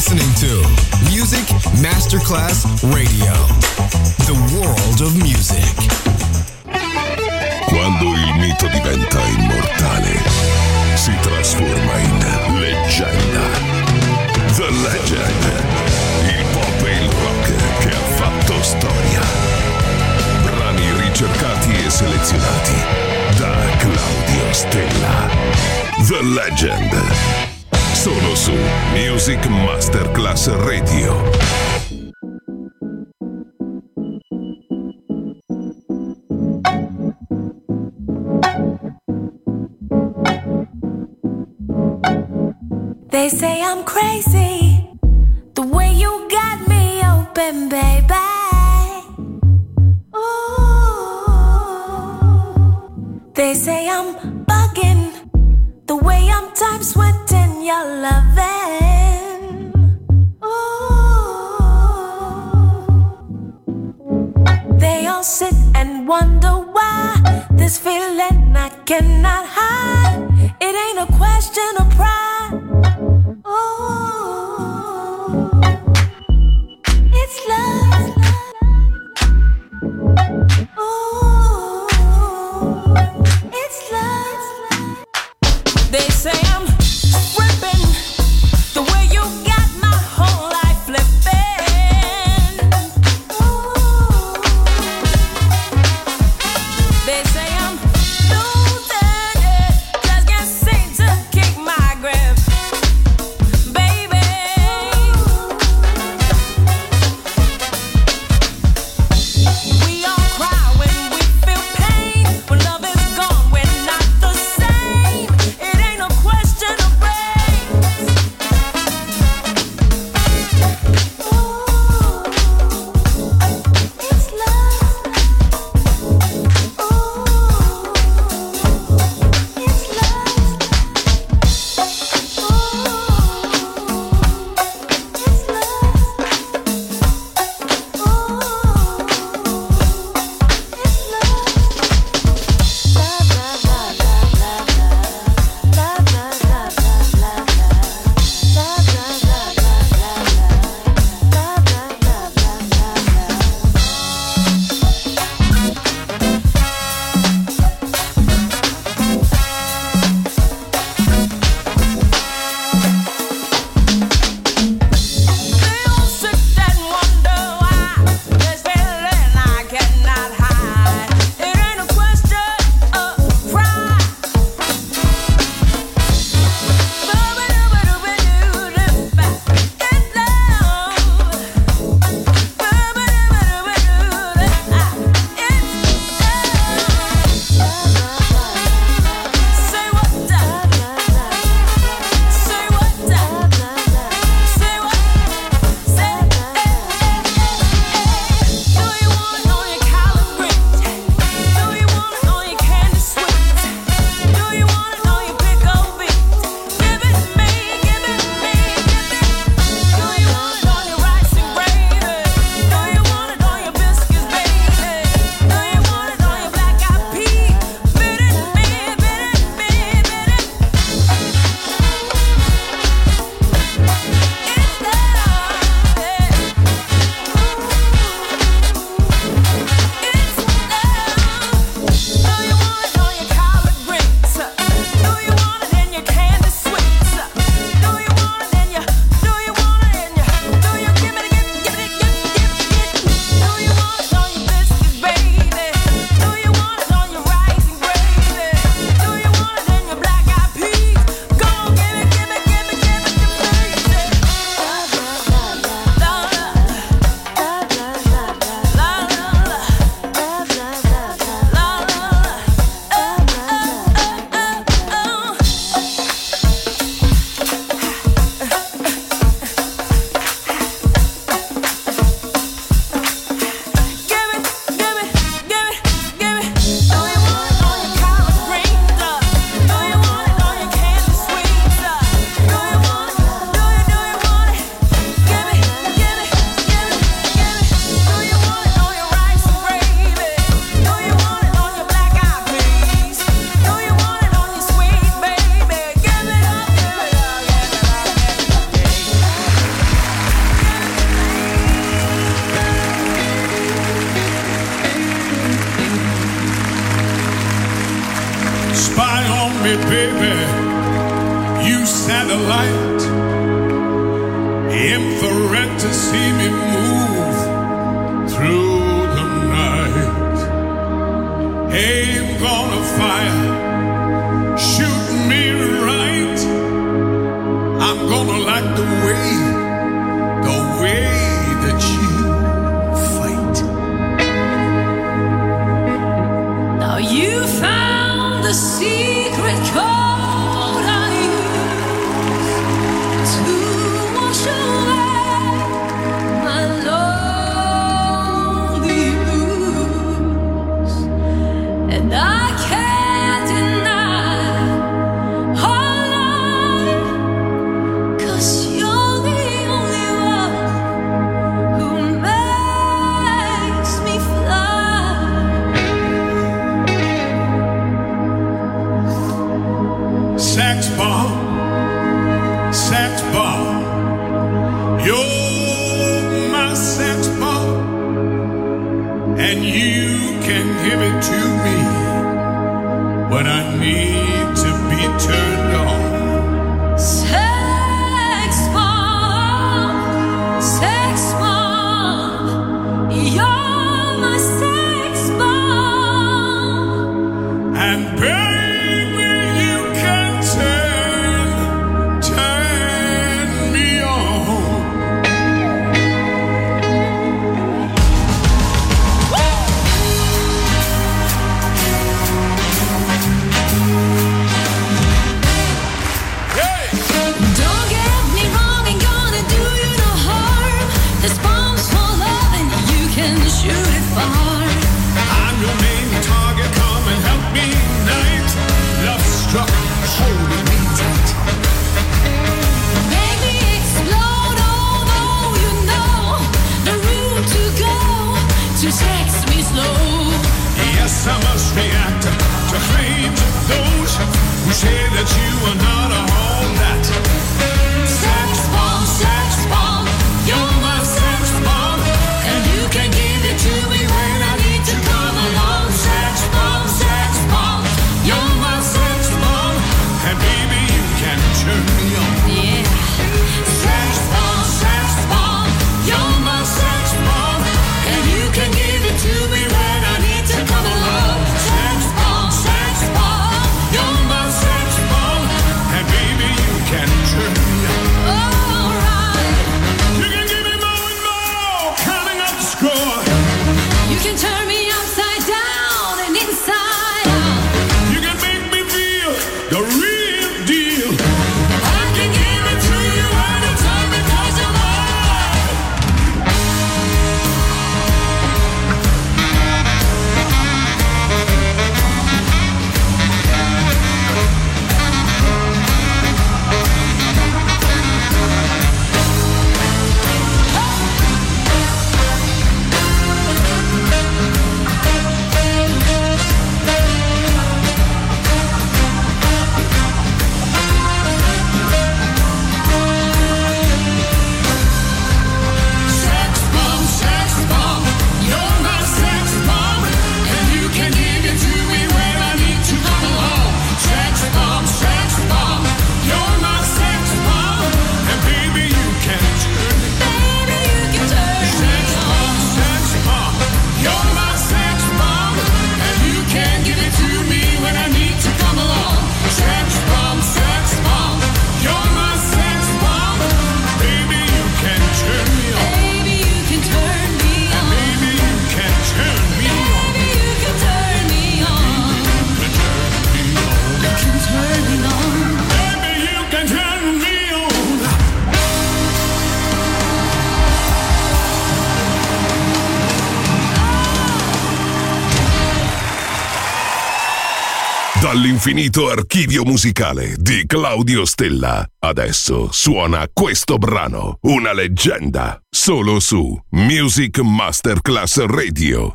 listening to Music Masterclass Radio. The world of music. Quando il mito diventa immortale, si trasforma in leggenda. The Legend. Il pop e il rock che ha fatto storia. Brani ricercati e selezionati da Claudio Stella. The Legend. Solo su Music Masterclass Radio. They say I'm crazy, the way you got me open, baby. Ooh. They say I'm bugging, the way I'm time sweating your loving. Ooh. They all sit and wonder why this feeling I cannot hide. It ain't a question of pride. It's love. Ooh, it's love. They say I'm tripping, the way you got my whole life flipping. Ooh. They say I'm losing it, just can't seem to keep my grip. sight, infrared to see me move through the night. Aim gonna fire, shoot me right. I'm gonna like the way that you fight. Now you found the secret code I use to wash away my lonely blues, and I can't deny our life, 'cause you're the only one who makes me fly. Sax bomb, you're my sax bomb, and you can give it to me when I need to be turned on. Sex bomb, you're my sex bomb. And baby, you can turn me on. Hey! Don't get me wrong, ain't gonna do you no harm. This bomb's for love and you can shoot it far. I'm your main target, come and help me tonight. Love struck, holding me tight. Make me explode, although you know the route to go to sex me slow. Yes, I must react to claims of those who say that you are not all that. Sex bomb, you're my sex bomb, and you can give it to me when I need to come along. Sex bomb, you're my sex bomb, And baby, you can turn me on. yeah. Sex bomb, you're my sex bomb, and you can give it to me when I need to come along. Sex bomb, you're my sex bomb, And baby, you can turn me on. alright. You can give me more and more, counting up the score. You can turn me upside down and inside out. You can make me feel the real deal. I can give it to you anytime because you're mine. Sex bomb, you're my sex bomb, and you can give it to me when I need to come along. Sex bomb, You're my sex bomb, and baby, you can turn me on. baby, you can turn me on. Sex bomb, you're my sex bomb, and you can give it to me when I need to come along. Sex bomb, you're my sex bomb, baby, you can turn me on. Baby, you can turn me on. Baby, you can turn me on. Baby, you can turn me on. You can turn me on. Baby, you can turn me on. Dall'infinito archivio musicale di Claudio Stella. Adesso suona questo brano, una leggenda, solo su Music Masterclass Radio.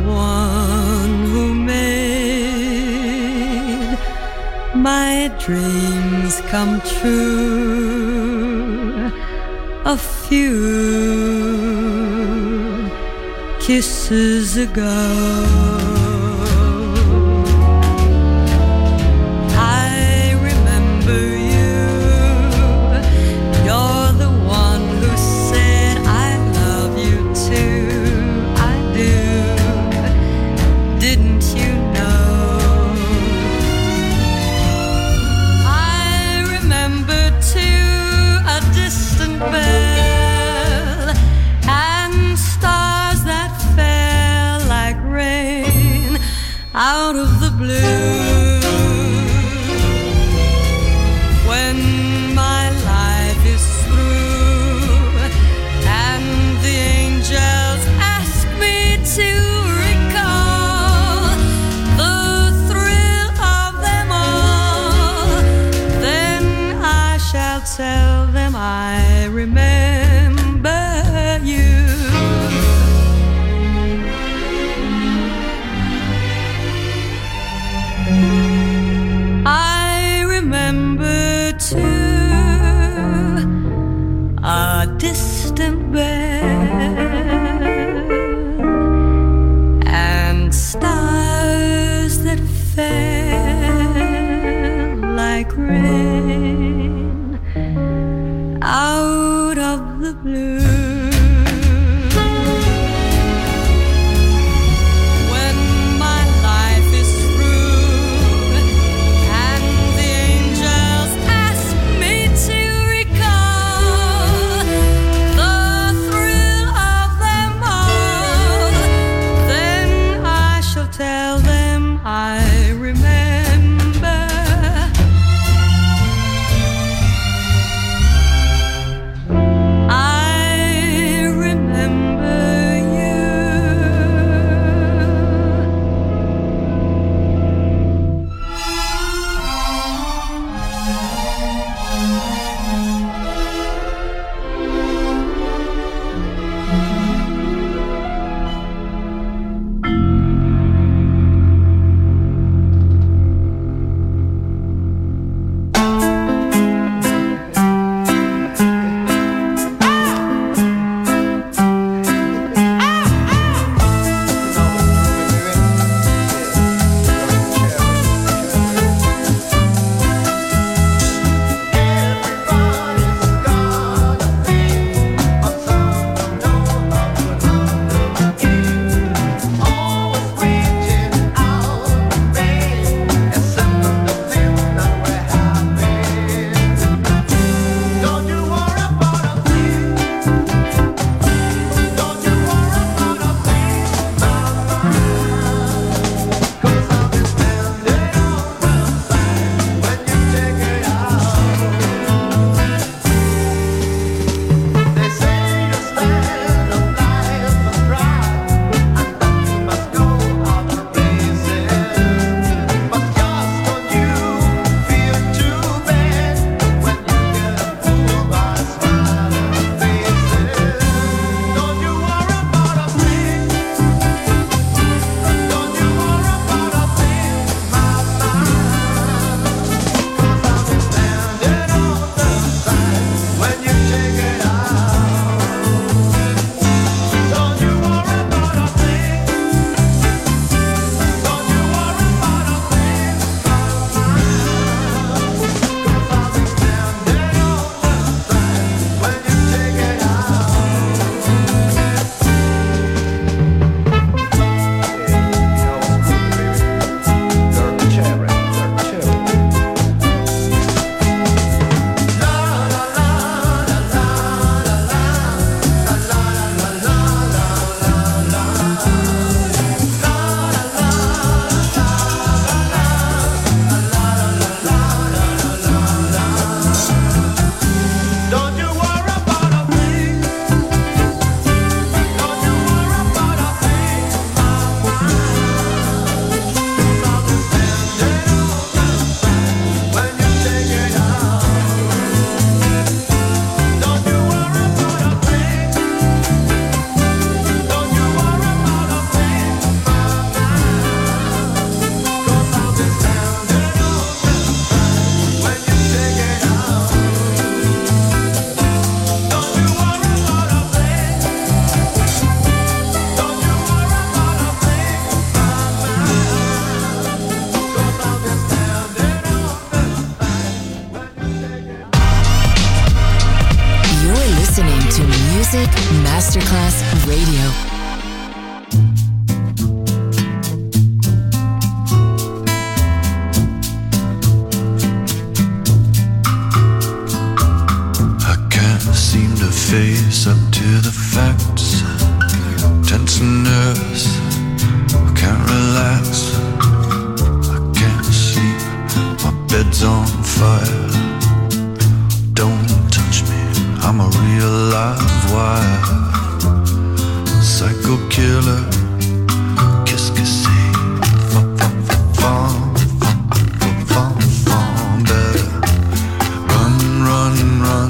Dream dreams come true. A few kisses ago. Out of the blue, when my life is through and the angels ask me to recall the thrill of them all, then I shall tell them I remember you. I remember too a distant bell and stars that fell like rain out of the blue. I listening to Music Masterclass Radio. Seem to face up to the facts. Tense and nervous, I can't relax. I can't sleep, my bed's on fire. Don't touch me, I'm a real live wire. Psycho killer, qu'est-ce que c'est? Better run, run, run.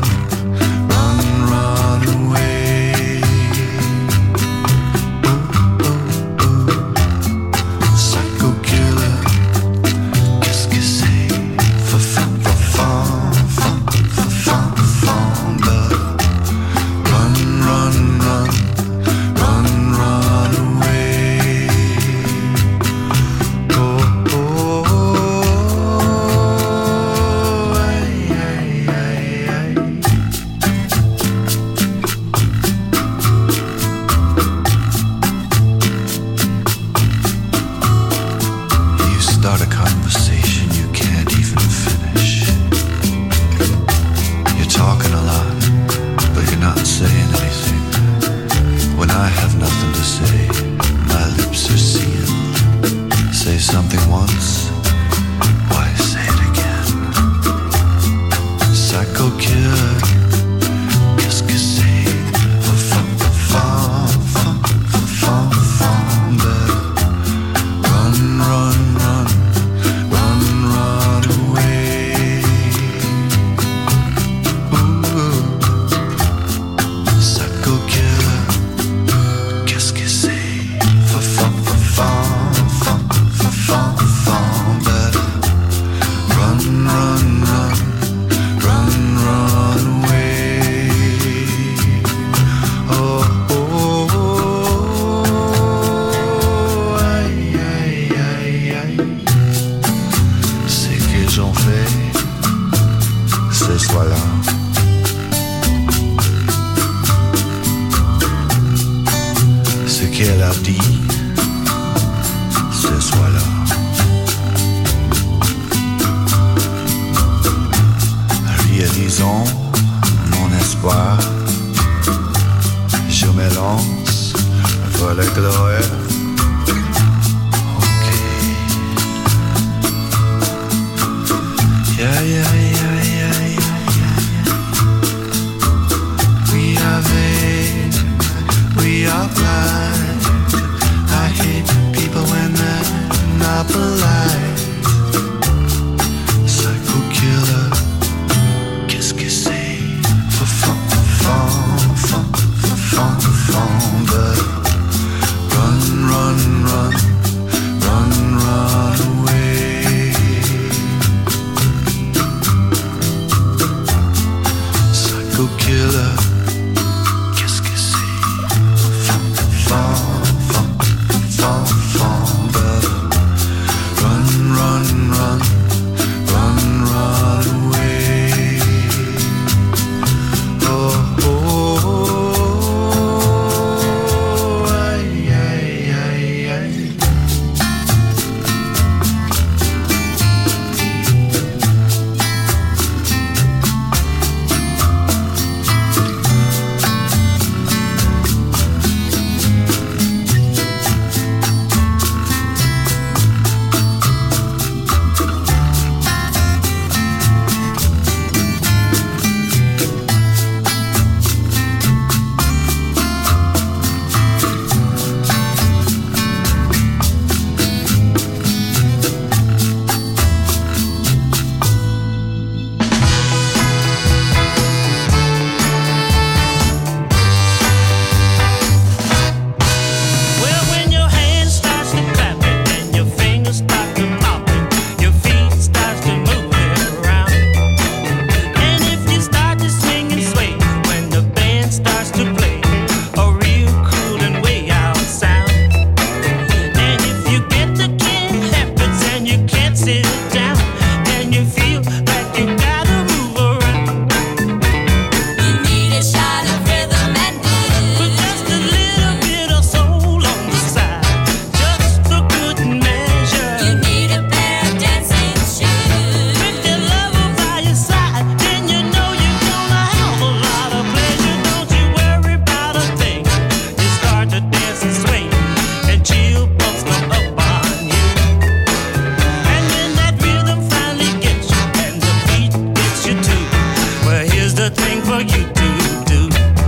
the thing for you to do.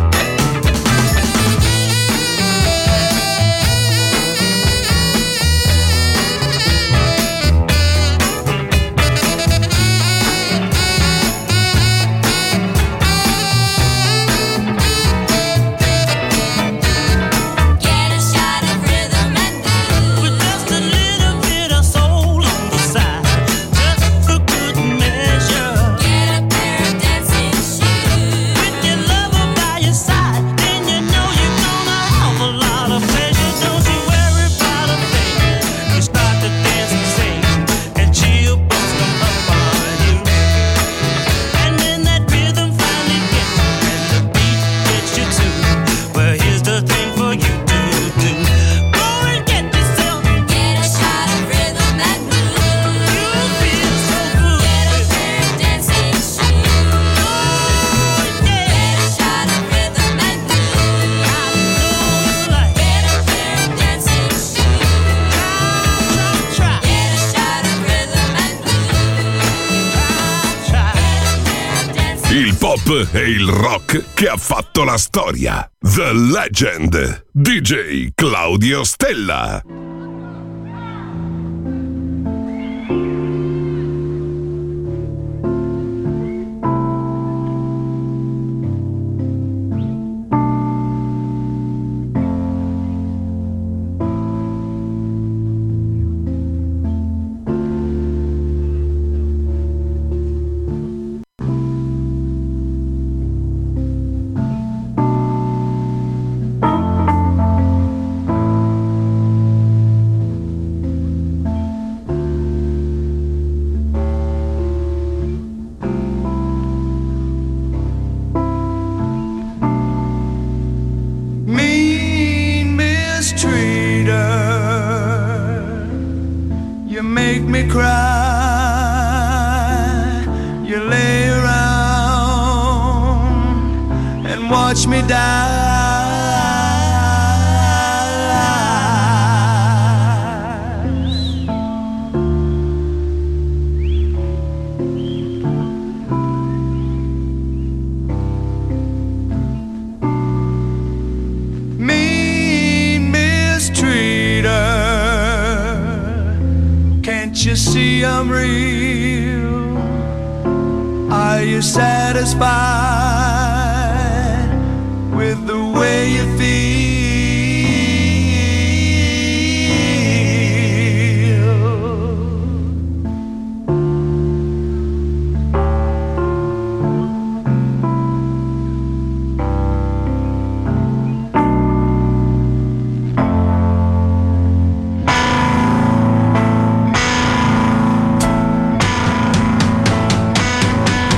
E il rock che ha fatto la storia. The Legend, DJ Claudio Stella.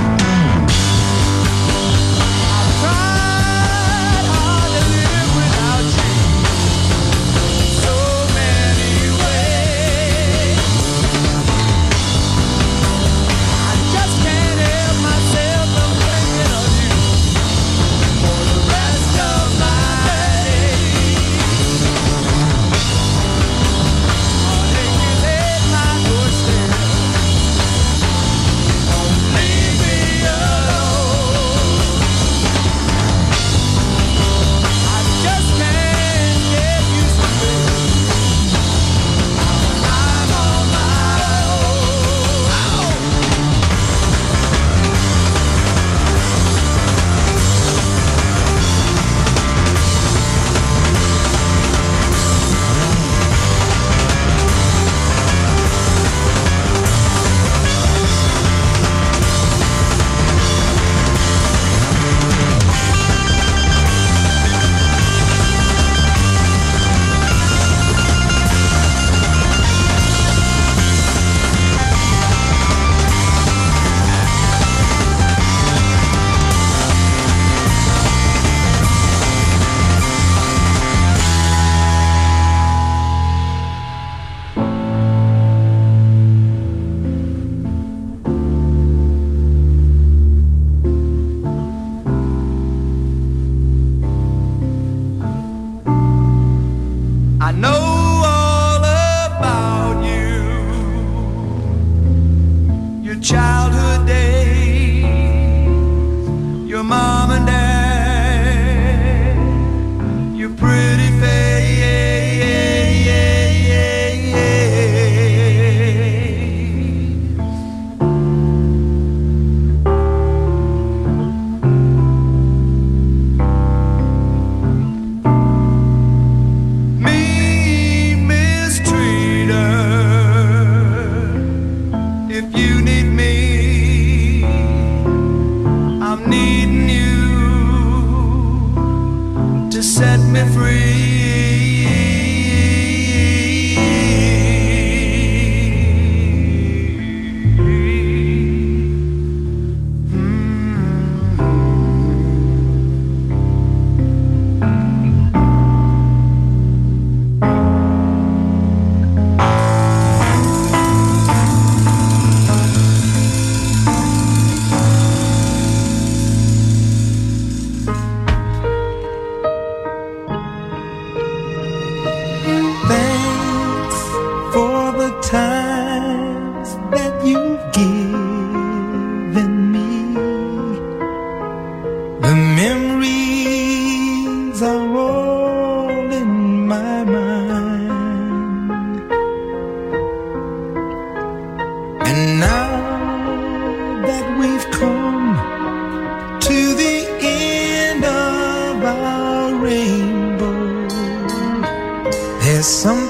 Without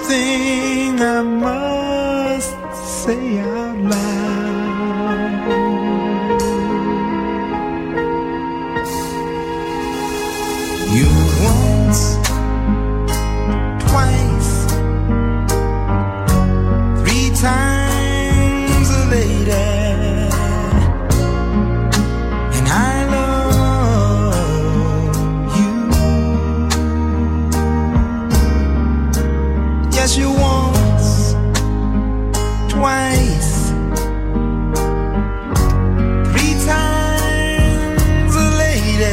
thing I must say out loud. You once, twice, three times a lady, and I love you. Yes, you once, twice, three times a lady.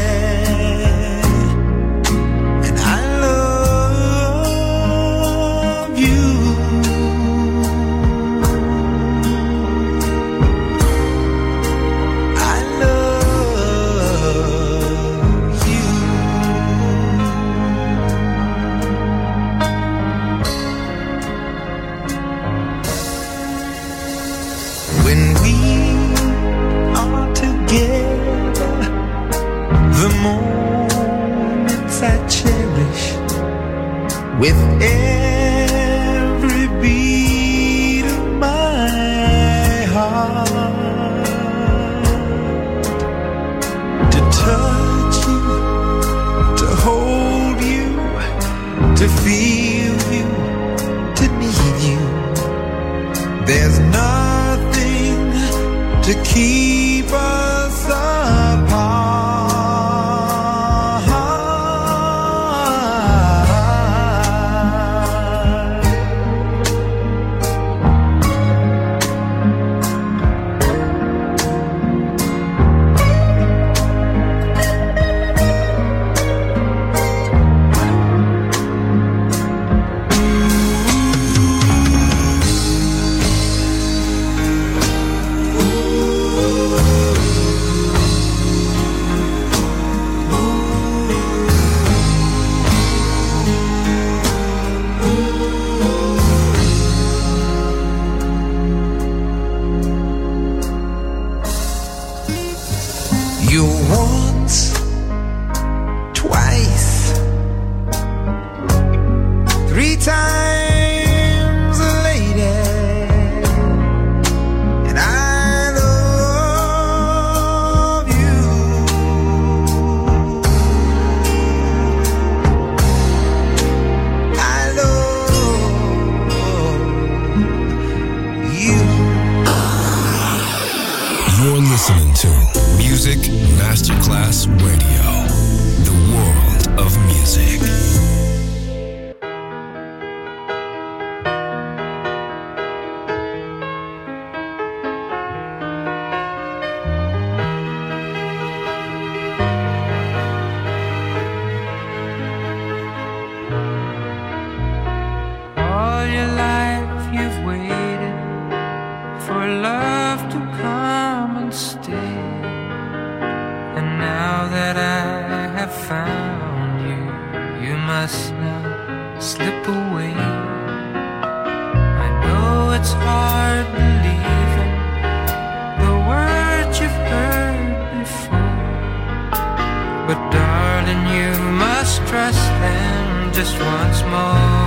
With every beat of my heart, to touch you, to hold you, to feel you, to need you. There's nothing to keep us apart. Masterclass Radio, the world of music. All your life you've waited for love to come and stay. Now that I have found you, you must not slip away. I know it's hard believing the words you've heard before, but darling, you must trust them just once more.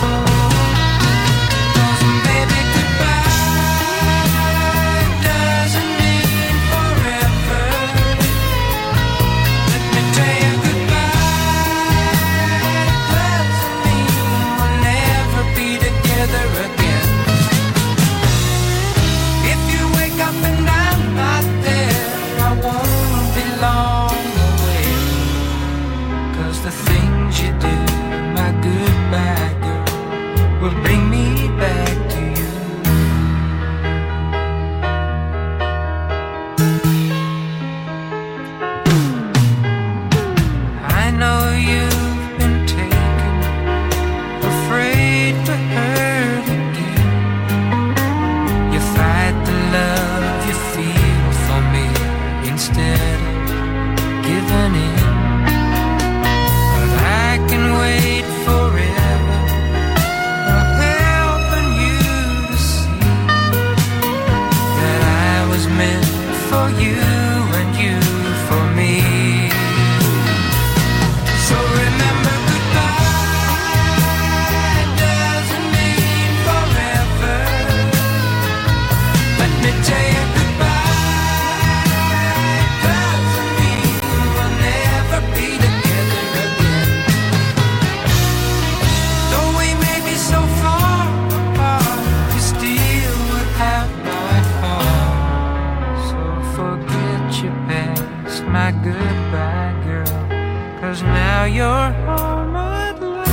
The things you do, my goodbye girl, will bring me back to you. I know you've been taken, afraid to hurt again. You fight the love you feel for me instead of giving in. I can my goodbye, girl, 'cause now you're home at last.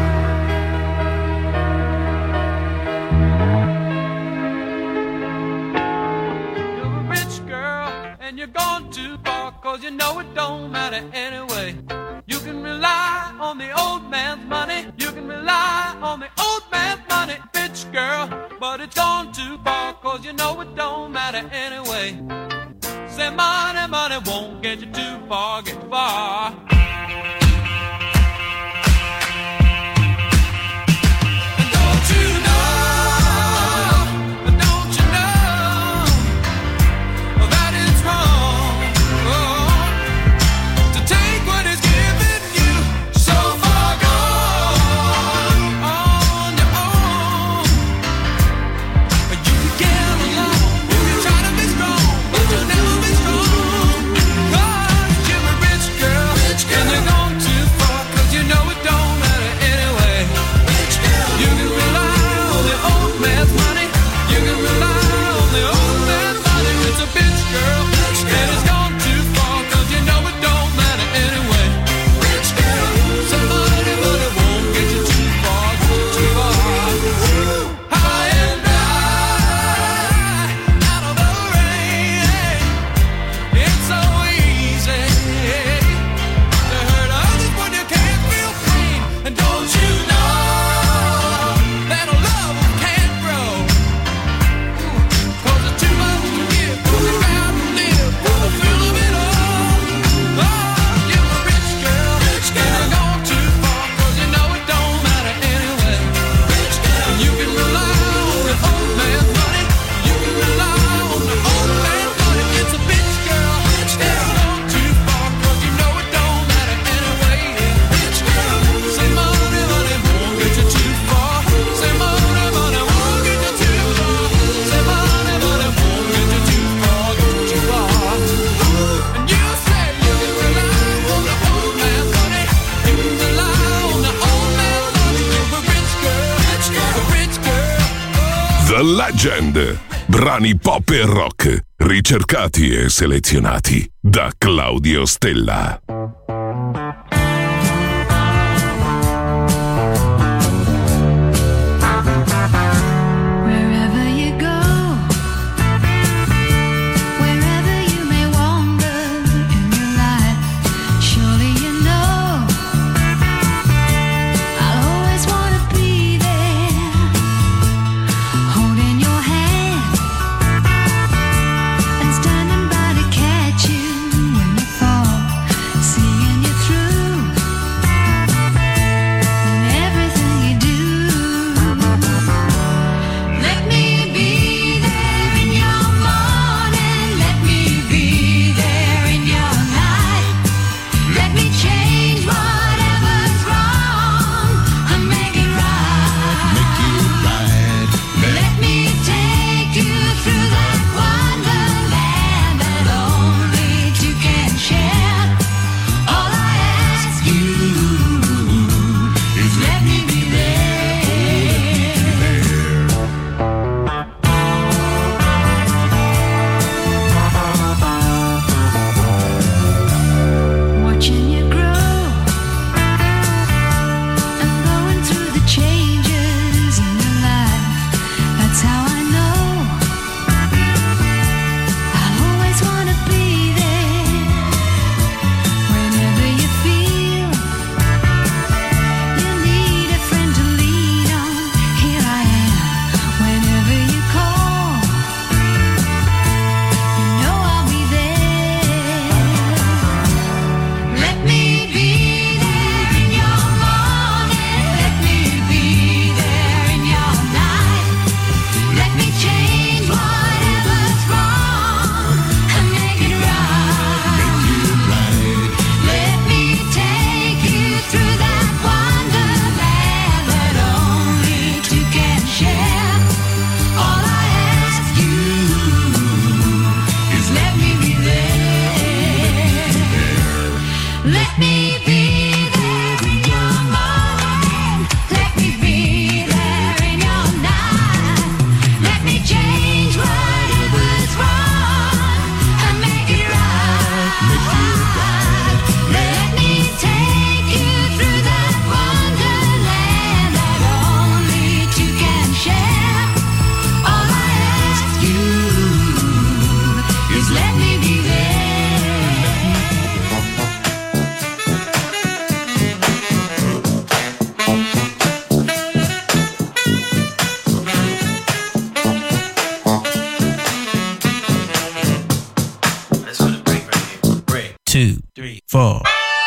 You're a rich girl and you're gone too far, 'cause you know it don't matter anyway. You can rely on the old man's money, you can rely on the old man's money, rich girl, but it's gone too far, 'cause you know it don't matter anyway. Say money, money won't get you too far, get far. And don't you know that it's wrong, to take what is given you, so far gone on your own. But you can get along, you can try to be strong, but you'll never be strong, 'cause you're a rich girl, and you're gone too far, 'cause you know it don't matter anyway. You can rely on the old man's money, you can rely on the old man's money. It's a bitch girl, and it's gone too far, 'cause you know it don't matter anyway. Say money, money won't get you too far, too far. High and dry, out of the rain, it's so easy to hurt others when you can't feel pain. And don't you know that love can't grow, 'cause it's too much to give, 'cause you gotta live for the thrill of it all. Oh, you're a rich girl, and you're gone too far, 'cause you know it don't matter anyway. And you can rely on the old man's money, you can rely on the old man's money. It's a bitch girl, and you're gone too far, 'cause you know it don't matter anyway. Say money, money won't get you too far. Say money, money won't get you too far. Say money, money won't get you too far, too far. And you say you can rely on the old man's money, you can rely on the old man's money. You're a rich girl, a rich girl. The Legend. Brani pop e rock, ricercati e selezionati da Claudio Stella. Wherever you go, wherever you may wander in your life, surely you know I'll always want to be there, holding your hand and standing by to catch you when you fall. 2, 3, 4.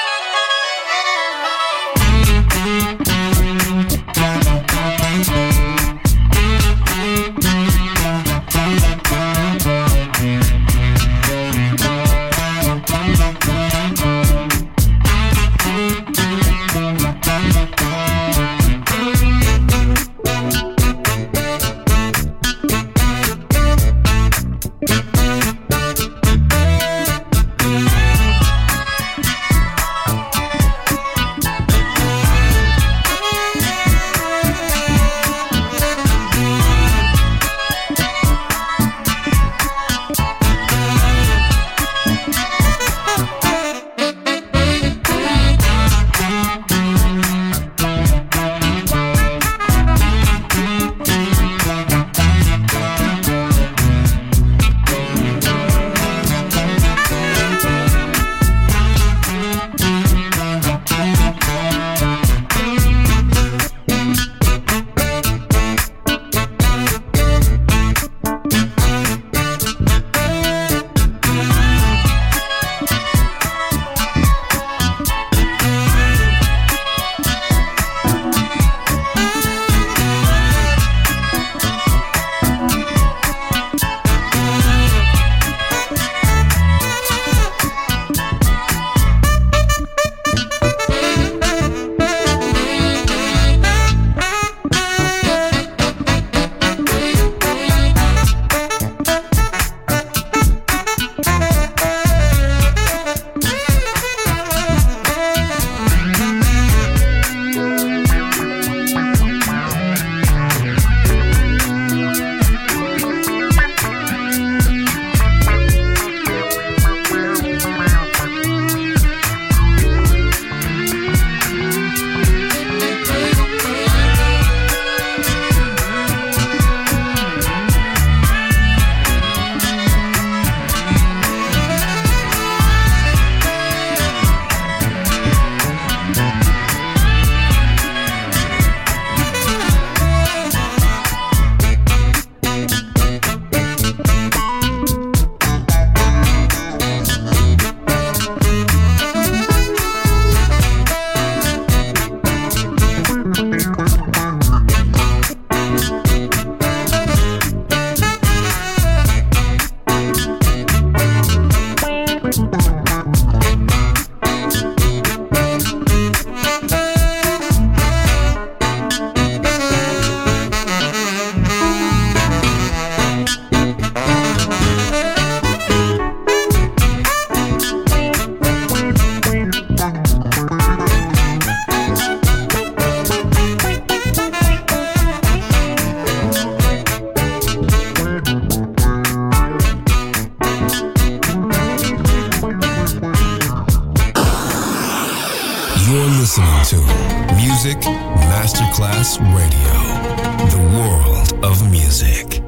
listening to Music Masterclass Radio, the world of music.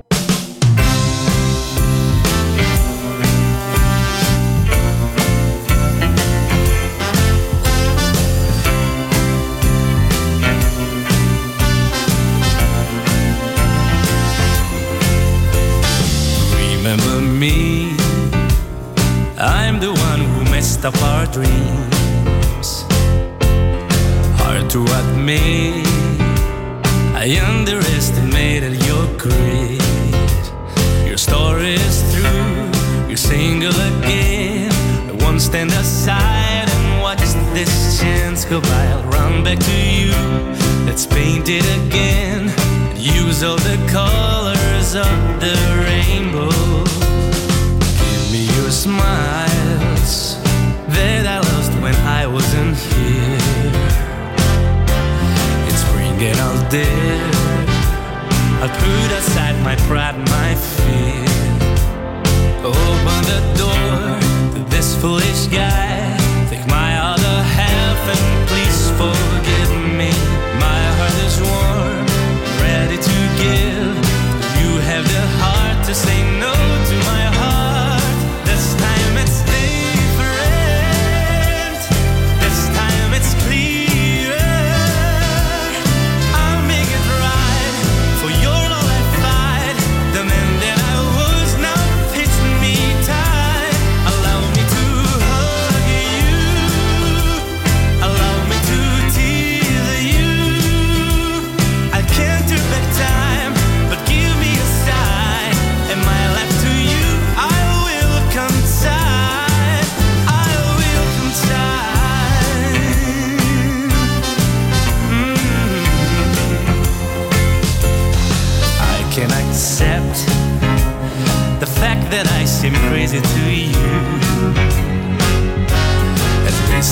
Remember me, I'm the one who messed up our dreams. Hard to admit, I underestimated your grit. Your story is through, you're single again. I won't stand aside and watch this chance go by. I'll run back to you, let's paint it again. Use all the colors of the rainbow. Give me your smiles that I lost when I wasn't here. It's spring and I'll dare, I'll put aside my pride, my fear. Open the door to this foolish guy. Take my other half and please forgive me. My heart is warm, ready to give. You have the heart to say no to my heart. This time it's different. This time it's clearer. I'll make it right. For your love I fight. The man that I was now fits me tight. Allow me to hold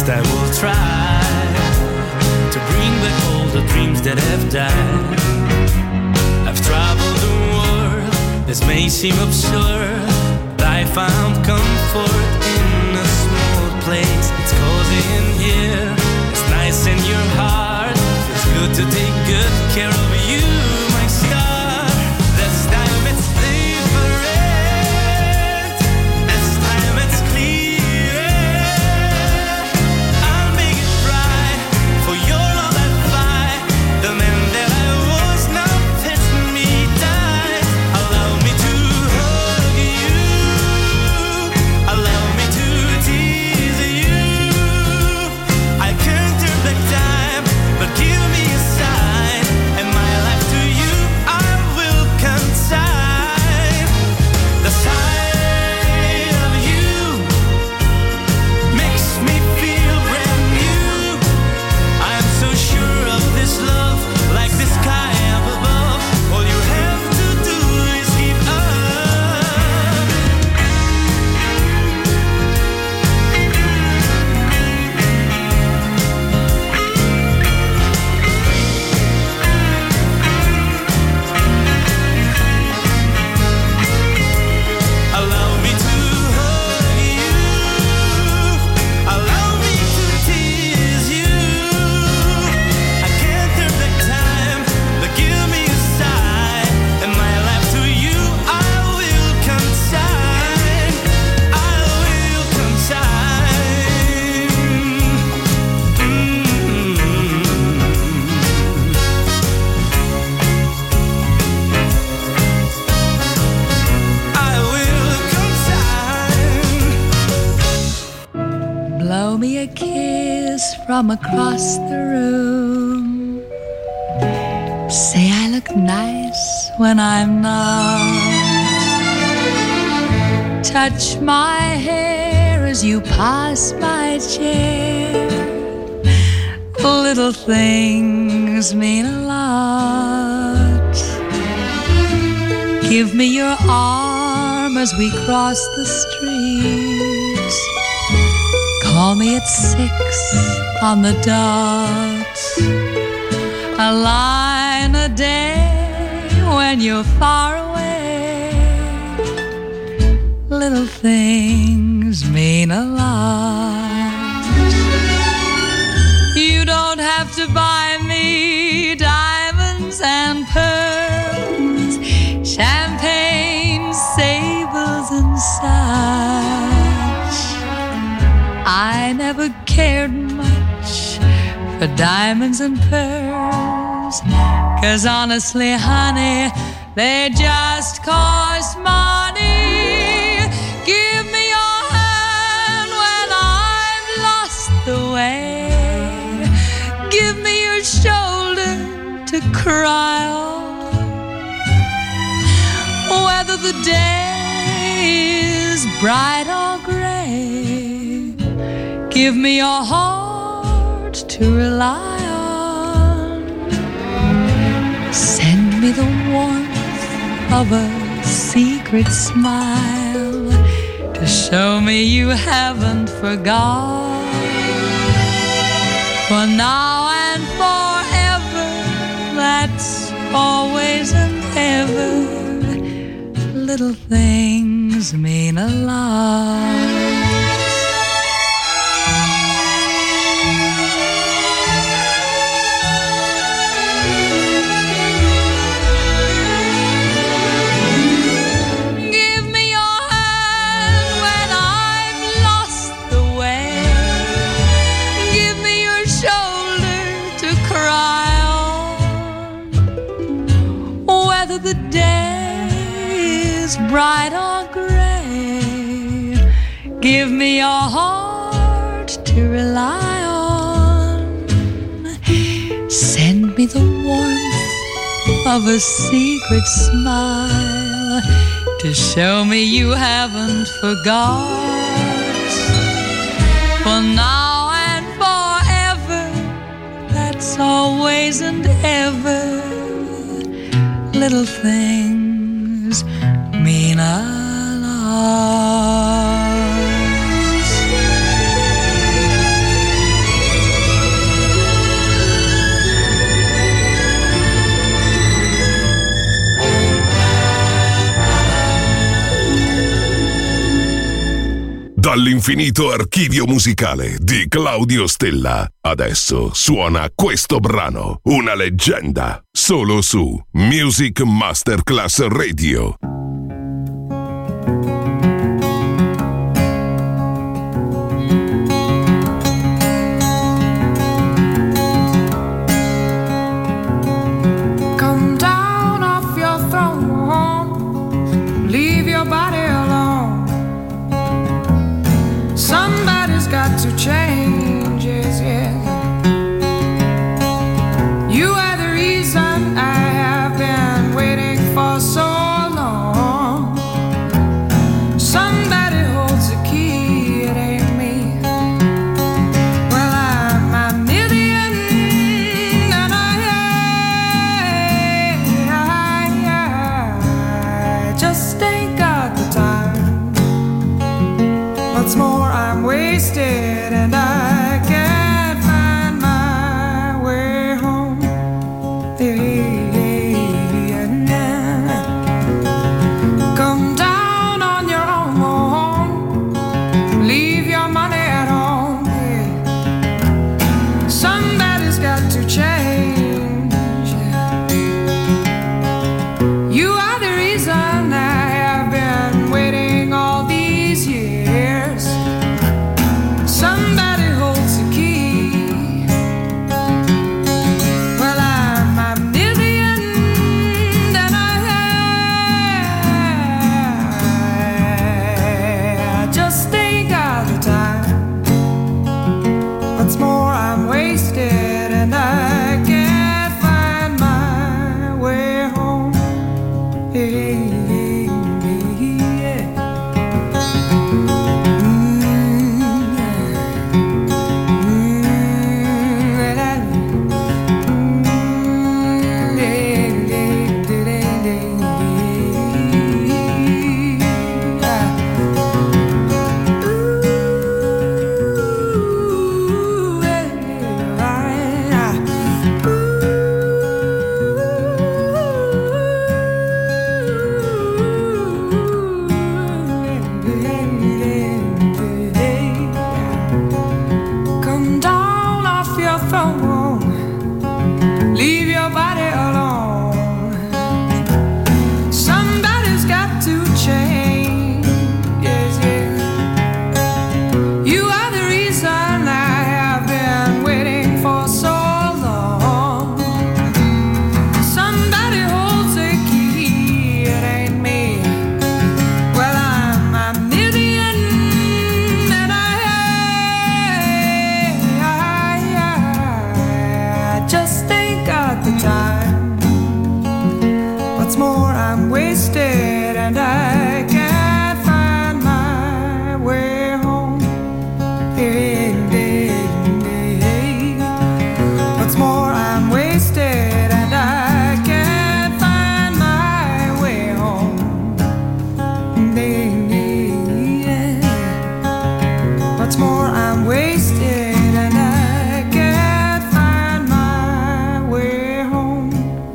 least I will try to bring back all the dreams that have died. I've traveled the world, this may seem absurd, but I found comfort in a small place. It's cozy in here, it's nice in your heart. It's good to take good care of you, my star. This time it's different, this time it's clear. I'll make it right for your love and fight. The man that I was now fits me tight. Allow me to hug you, allow me to tease you. I can't turn back time, but give me a sign, and my life to you I will consign. The sight of you makes me feel brand new. I'm so sure of this love, like the sky up above. All you have to do is give up. Allow me to hug you, allow me to tease you. I can't turn back time, but give me a sign, and my life to you I will consign. I will consign. I will consign. Blow me a kiss from across the room. Say I look nice when I'm not. Touch my hair as you pass my chair. Little things mean a lot. Give me your arm as we cross the street. Call me at 6 on the dot. A line a day when you're far away. Little things mean a lot. You don't have to buy me diamonds and pearls, champagne, sables and such. I never cared much for diamonds and pearls, 'cause honestly, honey, they just cost money. Give me your hand when I've lost the way. Give me your shoulder to cry on. Whether the day is bright or gray, give me your heart to rely on. Send me the warmth of a secret smile to show me you haven't forgot. For now and forever, that's always and ever. Little things mean a lot. Give me your hand when I've lost the way. Give me your shoulder to cry on. Whether the day is bright or gray, give me your heart to rely on. Send me the warmth of a secret smile to show me you haven't forgot. For now and forever, that's always and ever. Little things mean a lot. Dall'infinito archivio musicale di Claudio Stella, adesso suona questo brano, una leggenda, solo su Music Masterclass Radio. Come down off your throne, leave your body alone. Somebody's got to change, yes, yes. You are the reason I have been waiting for so long. Somebody holds the key, it ain't me. Well, I'm near the end, and I just ain't got the time. What's more, I'm wasted, and I can't find my way home. Come down on your own, leave your money at home. Somebody's got to change. You are the reason I have been waiting all these years. Somebody holds the key. Well, I'm near the end, and I just ain't got the time. What's more, I'm wasted, and I can't find my way home. Come down off your throne, leave your body alone. Somebody's got to change, yes, yes. You are the reason I have been waiting for so long. Somebody holds the key, it ain't me. Well, I'm near the end, and I just ain't got the time. What's more, I'm wasted, and I can't find my way home. What's more, I'm wasted, and I can't find my way home. What's more, I'm wasted, and I can't find my way home.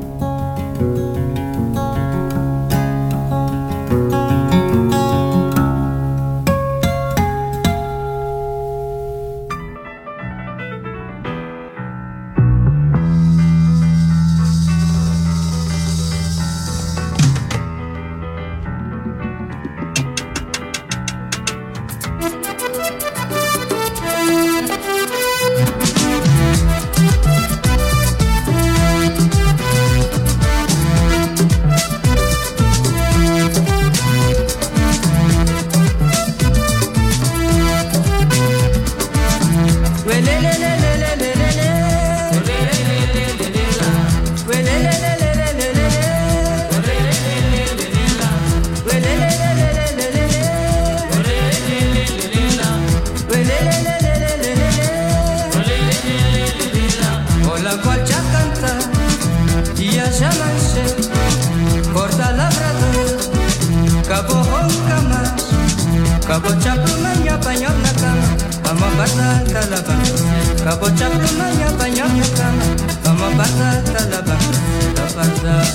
Hola qualche canta, dia chamanche, porta labrador, cabo honcamas, cabo chapumanya pañol na cama, ama bata talaba, cabo chapumanya pañol na cama, ama bata talaba, la bata.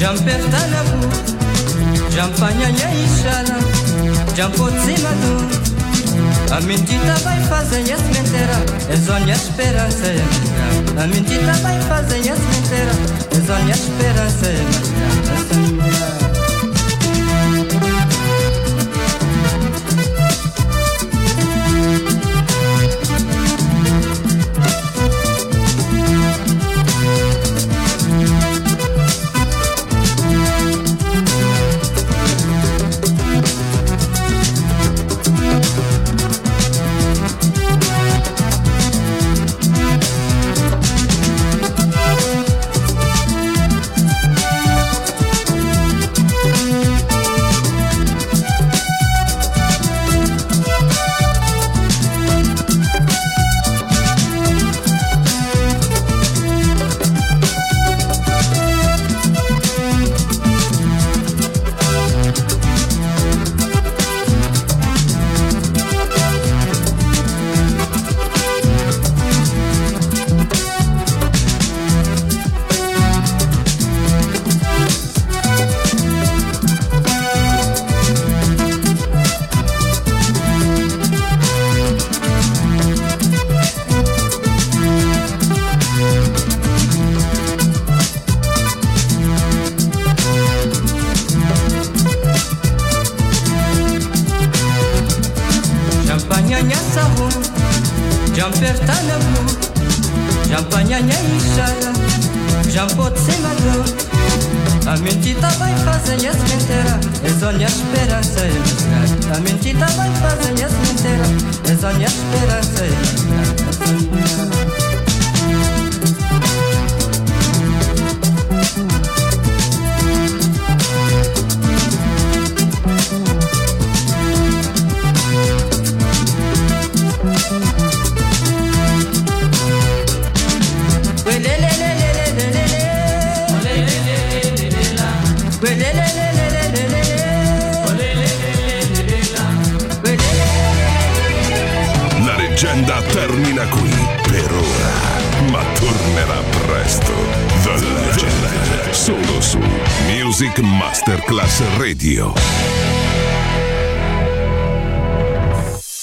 Jampertanabu, Jampanyanya Ishara, Jampozimadu, a mentira vai fazer as mentiras, é zona esperança, a mentira vai fazer as mentiras, é zona esperança, a mentira vai fazer as mentiras, é zona esperança, a mentira vai fazer as mentiras, é zona esperança, La leggenda termina qui per ora, ma tornerà presto. The Legend, solo su Music Masterclass Radio.